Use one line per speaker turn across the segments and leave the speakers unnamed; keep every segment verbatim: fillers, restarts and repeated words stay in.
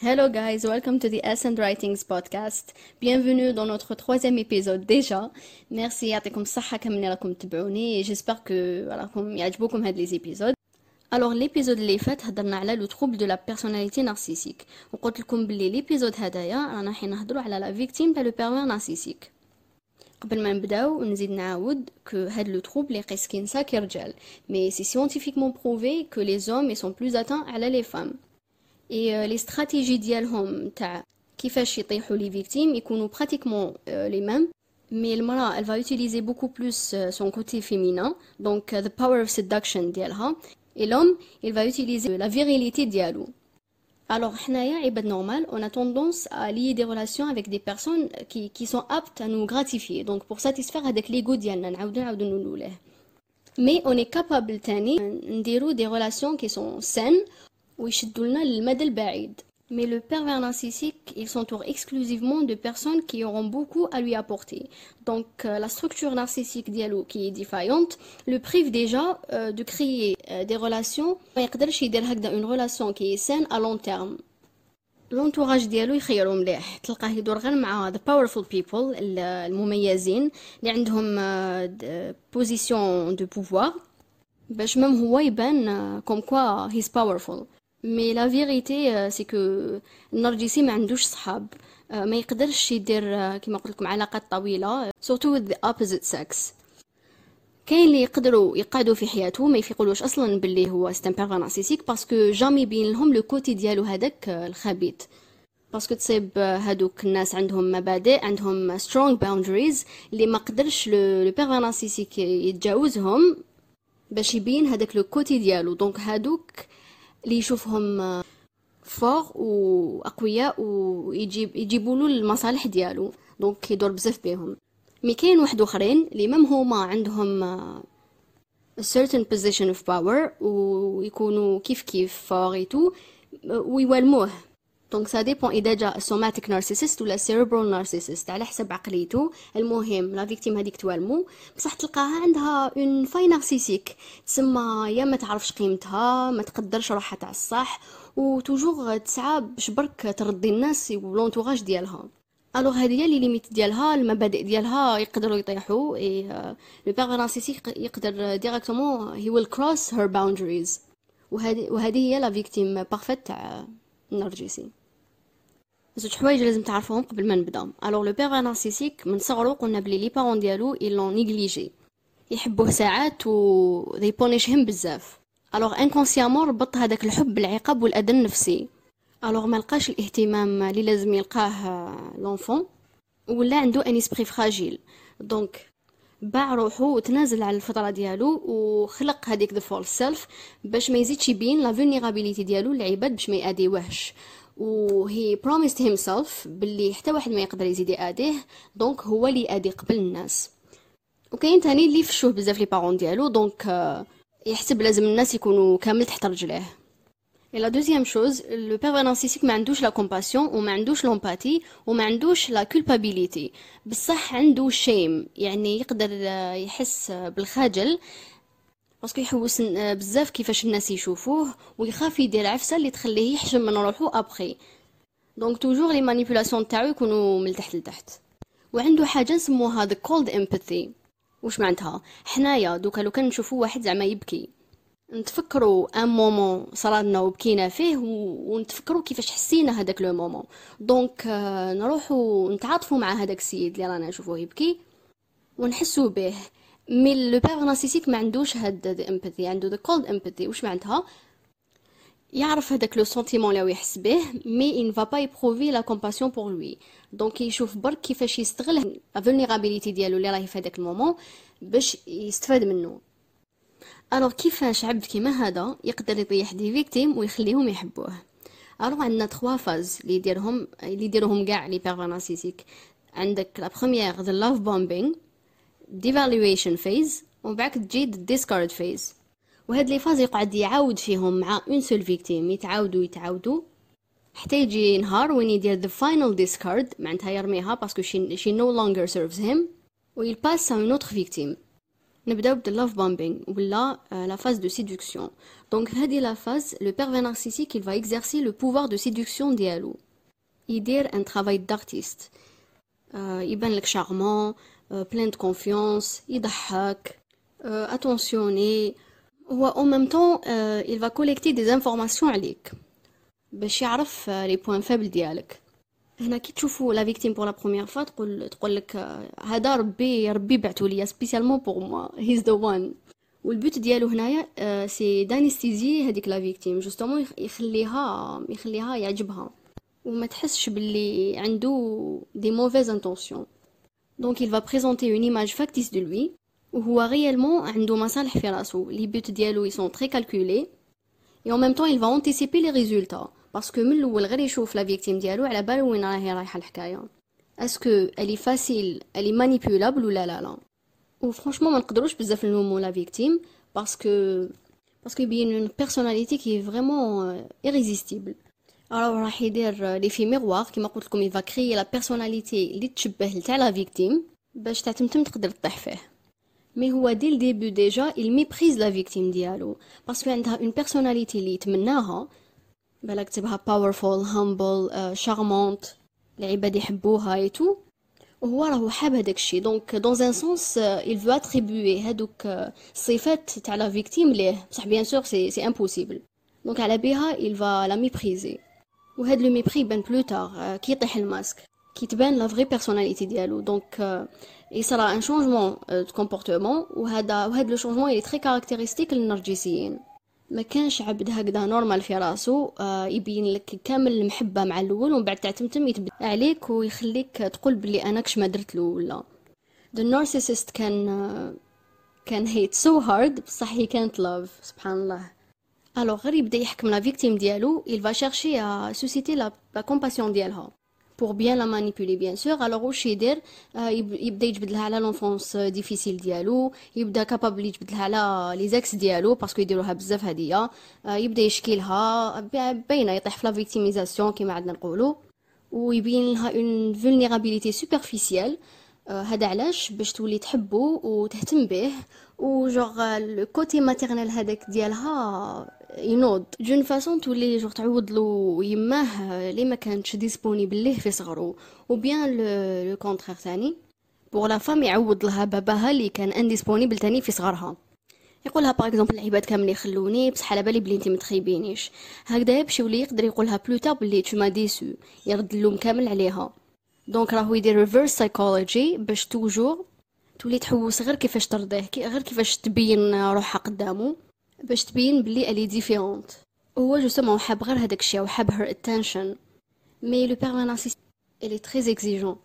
Hello guys, welcome to the Ascend Writings podcast. Bienvenue dans notre troisième épisode déjà. Merci يعطيكم الصحة كملي راكم تتبعوني et j'espère que راكم يعجبوكم هاد les épisodes. Alors l'épisode اللي فات هضرنا على لو trouble de la personnalité narcissique وقلت لكم باللي ليبيزود هدايا رانا حين نهضروا على لا فيكتيم تاع لو بيرفير نارسيسيك. قبل ما نبداو نزيد نعاود que هاد لو trouble يقيس كي نسا كي رجال mais c'est scientifiquement prouvé que les hommes ils sont plus atteints على les femmes. et les stratégies ديالهم تاع كيفاش يطيحوا لي فيكتيم يكونوا pratiquement les mêmes mais المرأة elle va utiliser beaucoup plus son côté féminin donc the power of seduction ديالها et l'homme il va utiliser la virilité ديالو. Alors حنايا عباد normal on a tendance à lier des relations avec des personnes qui qui sont aptes à nous gratifier donc pour satisfaire هذاك l'ego ديالنا نعاودو نعاودو نقولوه mais on est capable تاني نديرو des relations qui sont saines ويشدوا لنا للمدى البعيد. Mais le pervers narcissique, il s'entoure exclusivement de personnes qui auront beaucoup à lui apporter. Donc euh, la structure narcissique dialo qui est défaillante le prive déjà euh, de créer euh, des relations. ما يقدرش يدير هكذا une relation qui est saine à long terme. L'entourage ديالو يخيروا مليح تلقاه يدور غير مع the powerful people المميزين اللي عندهم uh, position de pouvoir باش même هو يبان uh, comme quoi he's powerful. Mais la vérité c'est que النرجسي ما عندوش صحاب ما يقدرش يدير كما قلت لكم علاقات طويله surtout with the opposite sex. كاين اللي يقدروا يقعدوا في حياته ما يفيقولوش اصلا باللي هو c'est un pervers narcissique parce que jamais يبين لهم لو كوتي ديالو هذاك الخبيث باسكو تصيب هادوك الناس عندهم مبادئ عندهم strong boundaries اللي ما قدرش لو pervers narcissique يتجاوزهم باش يبين هذاك لو كوتي ديالو. دونك هادوك اللي يشوفهم فور واقوياء ويجيب يجيبوا له المصالح ديالو دونك يدور بزاف بهم. مي كاين واحد اخرين اللي ميم هما عندهم a certain position of power ويكونوا كيف كيف فوريتو ويولموه دونك سا ديبون اذا جا سوماتيك نارسيسيست ولا سيربرال نارسيسيست على حسب عقليته. المهم لا فيكتيم هذيك توالمو بصح تلقاها عندها اون فاي نارسيسيك تسمى يا ما تعرفش قيمتها ما تقدرش روحها تاع الصح وتوجور تسعى باش برك ترضي الناس ولونتوراج ديالها. الوغ هذه هي لي ليميت ديالها المبادئ ديالها يقدروا يطيحوا اي لو بيرفير نارسيسيك يقدر ديريكتومون هي ويل كروس هير باوندريز وهذه وهذه هي لا فيكتيم بارفيت تاع النرجسي. زوج حوايج لازم تعرفوهم قبل ما نبدا. الوغ لو بيرفير نارسيسيك من صغرو قلنا بلي لي بارون ديالو يلون نيغليجي يحبوه ساعات و they punish him بزاف. الوغ انكونسيامون ربط هذاك الحب بالعقاب والاذى النفسي. الوغ ما لقاش الاهتمام اللي لازم يلقاه لونفون ولا عنده ان اسبري فراجيل دونك باع روحو وتنازل على الفطره ديالو وخلق هذيك ذا فول سيلف باش ما يزيدش يبين لا فولنيرابيليتي ديالو للعباد باش ما يأذيوهش و he promised himself باللي حتى واحد ما يقدر يزيد يأذيه دونك هو اللي يأذي قبل الناس. وكاين تاني اللي فشوه بزاف لي بارون ديالو دونك يحسب لازم الناس يكونوا كامل تحت رجليه. Et la deuxième chose, le pervers narcissique ما عندوش la compassion وما عندوش l'empathie وما عندوش la culpabilité بصح عنده shame يعني يقدر يحس بالخجل باسكو يحوس بزاف كيفاش الناس يشوفوه ويخاف يدير عفسه اللي تخليه يحشم من روحو ابخي دونك توجور لي مانيبيولاسيون تاعو يكونوا من تحت لتحت. وعنده حاجه نسموها the cold empathy. واش معناتها؟ حنايا دوكا لو كان نشوفوا واحد زعما يبكي نتفكروا ان مومون صرالنا وبكينا فيه ونتفكروا كيفاش حسينا هذاك لو مومون دونك نروحوا نتعاطفوا مع هذاك السيد اللي رانا نشوفوه يبكي ونحسوا به. مي لو بيرفير نارسيسيك ما عندوش هاد الامباثي عنده ذا كولد امباثي. واش معناتها؟ يعرف هذاك لو سنتيمون اللي يحس به مي ان فا با يبروفي لا كومباسيون بور لوي دونك يشوف برك كيفاش يستغل لا فولنيرابيليتي ديالو اللي راهي في هذاك المومون باش يستفاد منه. الوغ كيفاش عبد كيما هذا يقدر يطيح دي فيكتيم ويخليهم يحبوه؟ الوغ عندنا ثلاثة فاز اللي يديرهم اللي يديروهم كاع لي بيرفير نارسيسيك. عندك لا بروميير ذا لاف بومبينغ devaluation phase ومن بعد تجي discard phase وهاد لي فاز يقعد يعاود فيهم مع اون سول فيكتيم يتعاودوا يتعاودوا حتى يجي نهار وين يدير the final discard معناتها يرميها باسكو she, she no longer serves him و il passe à une autre victime. نبداو بد love bombing ولا la phase de séduction. Donc هذه la phase, le pervers narcissique il va exercer le pouvoir de séduction ديالو. يدير un travail d'artiste. euh, يبان لك charmant, euh, plein de confiance, يضحك, euh, attentionné. و en même temps euh, il va collecter des informations عليك باش يعرف les points faibles ديالك. هنا كي تشوفوا لا فيكتيم بور لا بروميير فوا تقول تقول لك هذا ربي ربي بعثوا ليا سبيسيالمون بور موا هيز ذا وان. والبوت ديالو هنايا سي دانستيزي هذيك لا فيكتيم جوستومون يخليها يخليها يعجبها وما تحسش باللي عنده دي موفيز انتونسيون. دونك il va présenter une image factice de lui وهو réellement عنده مصالح في راسو. لي بوت ديالو ils sont très calculés et en même temps il va anticiper les résultats باسكو من الاول غير يشوف لا فيكتيم ديالو على بالو وين راهي رايحه الحكايه. اسكو الي فاسيل الي مانيبيولابل ولا لا لا. وفرانشمون ما نقدروش بزاف نلومو لا فيكتيم باسكو باسكو يبين اون بيرسوناليتي كي فريمون ايريزيستيبل. alors راح يدير لي في ميغوار كيما قلت لكم يفا كريي لا بيرسوناليتي اللي تشبه تاع لا فيكتيم باش تعتمتم تقدر تطيح فيه. مي هو دي الديبي ديجا il ميبريز لا فيكتيم ديالو باسكو عندها اون بيرسوناليتي اللي يتمناها. بالك تبها powerful humble uh, charmante العباد يحبوها ايتو وهو راهو حاب هذاك الشيء. دونك dans un sens uh, il veut attribuer هذوك الصفات تاع لا فيكتيم ليه بصح بيان سور سي سي امبوسيبل. دونك على بها il va la mépriser وهاد لو ميبري يبان بلو تار كي يطيح الماسك كي تبان لا فري بيرسوناليتي ديالو. دونك يصرا ان شونجمون دو كومبورتمون وهذا وهاد لو شونجمون اللي تري كاركتيرستيك للنرجسيين. ما كانش عبد هكذا نورمال في راسو آه يبين لك كامل المحبه مع الاول ومن بعد تعتمتم يتبدا عليك ويخليك تقول بلي انا كش ما درت له ولا. the narcissist كان آه كان hate so hard بصح هي كانت love سبحان الله. الوغ غير يبدا يحكم لا فيكتيم ديالو il va chercher à susciter la, la compassion ديالها pour bien la manipuler bien sûr. alors واش يدير آه يبدا يجبد لها على لونفونس ديفيسيل ديالو يبدا كابابل يجبد لها على لي زكس ديالو باسكو يديروها بزاف هديه آه يبدا يشكي لها باينه يطيح في لا فيكتيميزاسيون كيما عندنا نقولوا ويبين لها اون فولنيرابيليتي سوبرفيسيال. هذا علاش باش تولي تحبه وتهتم به وجوغ لو كوتي ماتيرنال هذاك ديالها ينوض جون فاسون تولي جوغ تعوض له يماه لي ما كانتش ديسپونيبل ليه في صغرو وبيان لو كونترير ثاني بور لا فام يعوض لها باباها اللي كان انديسپونيبل ثاني في صغرها. يقولها باغ اكزومبل العباد كامل يخلوني بصح على بالي بلي انت ما تخيبينيش هكذا يمشي ولا يقدر يقولها بلو تار بلي تو ما ديسو يرد اللوم كامل عليها. دونك راهو يدير ريفيرس سايكولوجي باش توجور تولي تحوس غير كيفاش ترضيه غير كيفاش تبين روحها قدامه باش تبين بلي الي ديفيرونت. هو جوستومون حاب غير هذاك الشيء وحاب هير اتنشن. مي لو بير نارسيست الي تري اكزيجون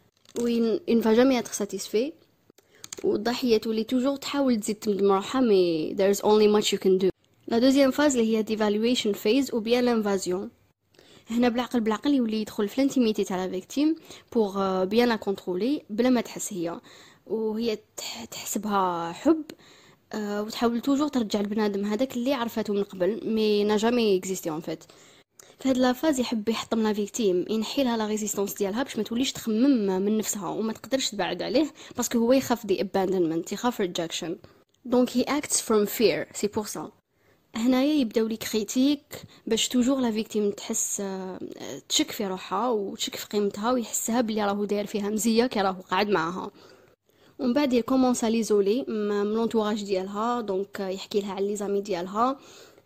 وين ان فا جامي اتر ساتيسفي والضحيه تولي توجور تحاول تزيد تمدم روحها مي there is only much you can do. لا دوزيام فاز اللي هي ديفالويشن فيز و بيان لانفازيون. هنا بالعقل بالعقل يولي يدخل في الانتيميتي تاع لا فيكتيم بور بيان لا كونترولي بلا ما تحس هي وهي تحسبها حب أه وتحاول توجور ترجع البنادم هذاك اللي عرفته من قبل مي نا جامي اكزيستي اون فيت. في هاد لا فاز يحب يحطم لا فيكتيم ينحي لها لا ريزيستانس ديالها باش ما توليش تخمم من نفسها وما تقدرش تبعد عليه باسكو هو يخاف دي اباندمنت يخاف ريجكشن. دونك هي اكتس فروم فير سي بور سا. هنايا يبداو لي كريتيك باش توجور لا فيكتيم تحس تشك في روحها وتشك في قيمتها ويحسها بلي راهو داير فيها مزيه كي راهو قاعد معاها. ومن بعد يكومونس ليزولي من لونطوراج ديالها. دونك يحكي لها على لي زامي ديالها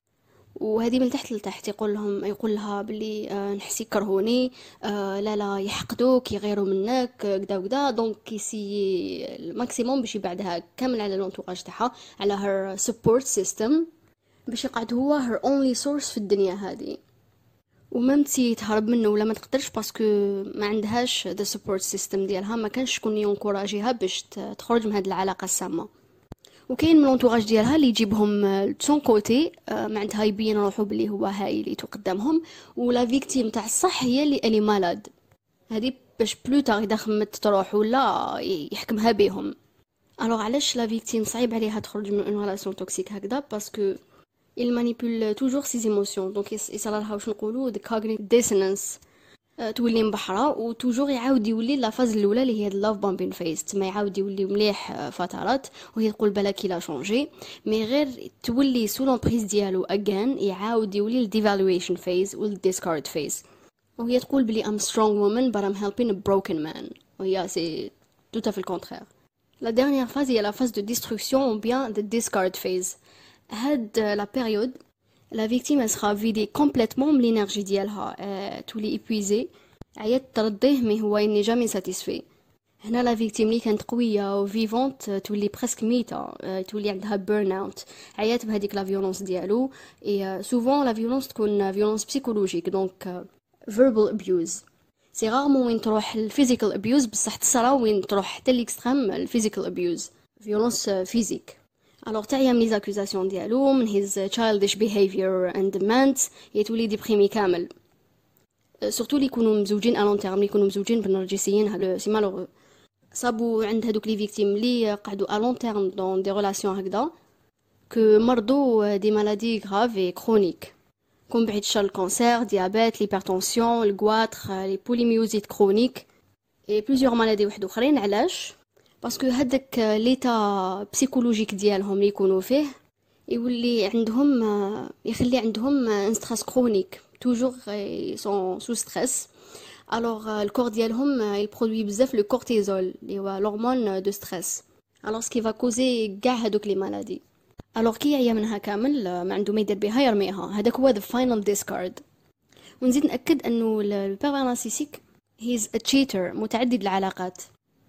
وهذه من تحت لتحت يقول لهم يقول لها بلي آه نحس يكرهوني آه لا لا يحقدوك يغيروا منك كدا وكدا. دونك يسي الماكسيموم باش يبعدها كامل على لونطوراج تاعها على هر سبورت سيستم باش يقعد هو هر اونلي سورس في الدنيا هذه وما تسي تهرب منه ولا ما تقدرش باسكو ما عندهاش ذا سبورت سيستم ديالها ما كانش شكون ينكوراجيها باش تخرج من هذه العلاقه السامه. وكاين من لونطوراج ديالها اللي يجيبهم سون كوتي ما عندها يبين روحو بلي هو هايليتو قدامهم ولا فيكتيم تاع الصح هي اللي الي مالاد هذه باش بلو تار اذا خمت تروح ولا يحكمها بهم. الوغ علاش لا فيكتيم صعيب عليها تخرج من اون ريلاسيون توكسيك هكذا باسكو il manipule toujours ses émotions. donc يصرى لها واش نقولوا the cognitive dissonance آه، تولي مبحرة وتوجور يعاود يولي لا فاز الاولى اللي هي اللاف بومبين فيز، تما يعاود يولي مليح آه، فترات وهي تقول بلاكي لا شونجي، مي غير تولي سو لومبريز ديالو اجان يعاود يولي الديفالويشن فيز والديسكارد فيز، وهي تقول بلي I'm strong woman but I'm helping a broken man، وهي سي tout à fait le contraire. La dernière phase هي la phase de destruction ou bien de discard phase. هاد la période la victime elle sera vidée complètement من l'énergie ديالها، euh, تولي épuisée، عيات ترضيه mais هو il n'est jamais satisfait. هنا la victime اللي كانت قوية و vivante تولي presque ميتة، euh, تولي عندها burn out، عيات بهذيك la violence ديالو، et euh, souvent la violence تكون violence psychologique donc euh, verbal abuse. سي غارمون وين تروح الفيزيكال ابيوز، بصح تصرا وين تروح حتى الاكستريم الفيزيكال ابيوز، فيولونس فيزيك. الوغ تعيا من لي زاكوزاسيون ديالو من هيز childish behavior and demands يتولي ديبريمي كامل، سورتو لي يكونوا مزوجين الون تيرم، لي يكونوا مزوجين بالنرجسيين، هذا سي مالوغو. صابو عند هادوك لي فيكتيم لي قعدوا الون تيرم دون دي ريلاسيون هكذا كو مرضوا دي مالادي غراف اي كرونيك، كون بعيد الشر الكونسير، ديابيت، ليبرتونسيون، الكواتر، لي بوليميوزيت كرونيك اي بليزيور مالادي واحد اخرين. علاش؟ باسكو هذاك ليتا بسيكولوجيك ديالهم اللي يكونوا فيه يولي عندهم يخلي عندهم ان ستريس كرونيك، توجور سون سو ستريس. الوغ الكور ديالهم يبرودوي بزاف لو كورتيزول اللي هو l'hormone دو ستريس، الوغ سكي فا كوزي كاع هذوك لي مالادي. الوغ كي يعيا منها كامل ما عنده ما يدير بها يرميها، هذاك هو the final discard. ونزيد نأكد انه البيرفير نارسيسيك هيز ا تشيتر، متعدد العلاقات.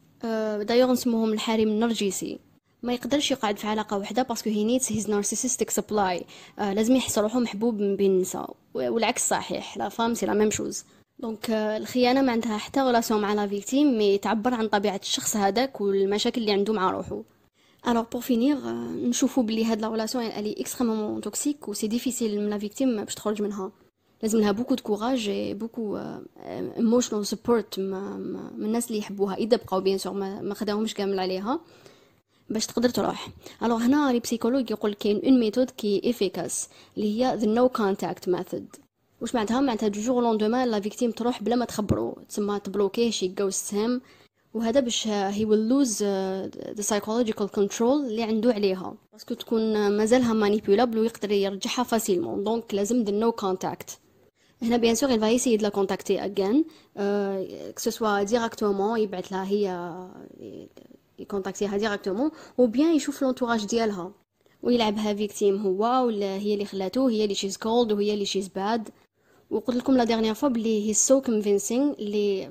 أه دايوغ نسموهم الحريم النرجسي، ما يقدرش يقعد في علاقه واحده باسكو هي نيدز هيز نارسيسيستيك سبلاي، لازم يحس روحو محبوب من بين النساء، والعكس صحيح، لا فام سي لا ميم شوز. دونك الخيانه ما عندها حتى ريلاسيون مع لا فيكتيم، مي تعبر عن طبيعه الشخص هذاك والمشاكل اللي عنده مع روحو. Alors pour finir, نشوفوا بلي هاد لا ريلاسيون elle est extrêmement toxique و سي ديفيسيل من لا فيكتيم باش تخرج منها، لازم لها بوكو دو كوراج اي بوكو ايموشنال سبورت من الناس اللي يحبوها، اذا بقاو بيان سور ما, ما خداهمش كامل عليها باش تقدر تروح. الوغ هنا لي بسيكولوج يقول كاين اون ميثود كي افيكاس اللي هي the no contact method. واش معناتها؟ معناتها دو جور لوندومان لا فيكتيم تروح بلا ما تخبرو، تسمى تبلوكيه شي جوست هيم، وهذا باش he will lose uh, the psychological control اللي عنده عليها، باسكو تكون مازالها مانيبيولابل ويقدر يرجعها فاسيلمون. دونك لازم the no contact. هنا بيان سور il va essayer de la contacter again euh, que ce soit directement يبعث لها هي يكونتاكتيها ديريكتومون، او بيان يشوف لونتوراج ديالها ويلعبها فيكتيم هو ولا هي اللي خلاتو، هي اللي شيز كولد وهي اللي شيز باد. وقلت لكم لا ديرنيير فوا بلي هي سو كونفينسينغ اللي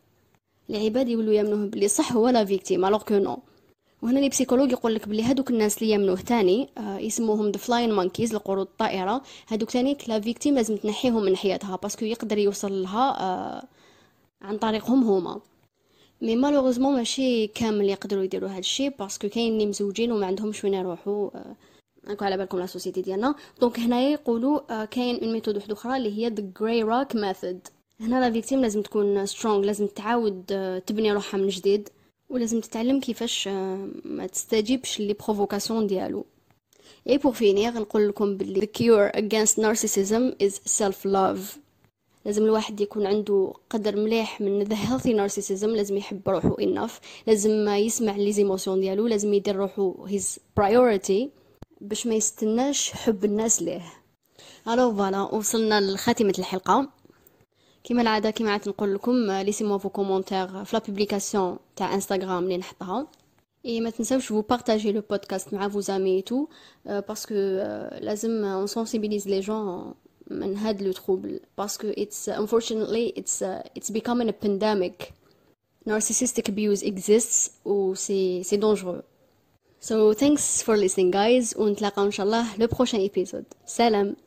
العباد يولوا يامنوه بلي صح هو لا فيكتيم الوغ كو نو. وهنا لي بسيكولوج يقول لك بلي هذوك الناس اللي يامنوه تاني آه يسموهم ذا فلاين مونكيز، القرود الطائره، هذوك تاني لا فيكتيم لازم تنحيهم من حياتها باسكو يقدر يوصل لها آه عن طريقهم هما. مي مالوغوزمون ماشي كامل يقدروا يديروا هذا الشيء باسكو كاين اللي مزوجين وما عندهمش وين يروحوا، راكم على بالكم لا سوسيتي ديالنا. دونك هنايا يقولوا آه كاين اون ميثود واحده اخرى اللي هي ذا جراي روك ميثود. هنا لا فيكتيم لازم تكون سترونغ، لازم تعاود تبني روحها من جديد، ولازم تتعلم كيفاش ما تستجيبش لي بروفوكاسيون ديالو. اي بور فينير نقول لكم بلي the cure against narcissism is self love. لازم الواحد يكون عنده قدر مليح من the healthy narcissism، لازم يحب روحه enough، لازم يسمع لي زيموسيون ديالو، لازم يدير روحه his priority باش ما يستناش حب الناس ليه. الو فوالا وصلنا لخاتمه الحلقه. كما العاده كما عاد نقول لكم ليسيموا فو كومونتير في لا بوبليكاسيون تاع انستغرام اللي نحطها، اي ما تنساوش فو بارطاجي لو بودكاست مع فو زامي تو باسكو لازم اون سونسيبيليز لي جون من هاد لو تروبل باسكو it's unfortunately it's uh, it's becoming a pandemic. Narcissistic abuse exists و c'est c'est dangereux. So thanks for listening guys ونتلاقاو ان شاء الله le prochain épisode. سلام.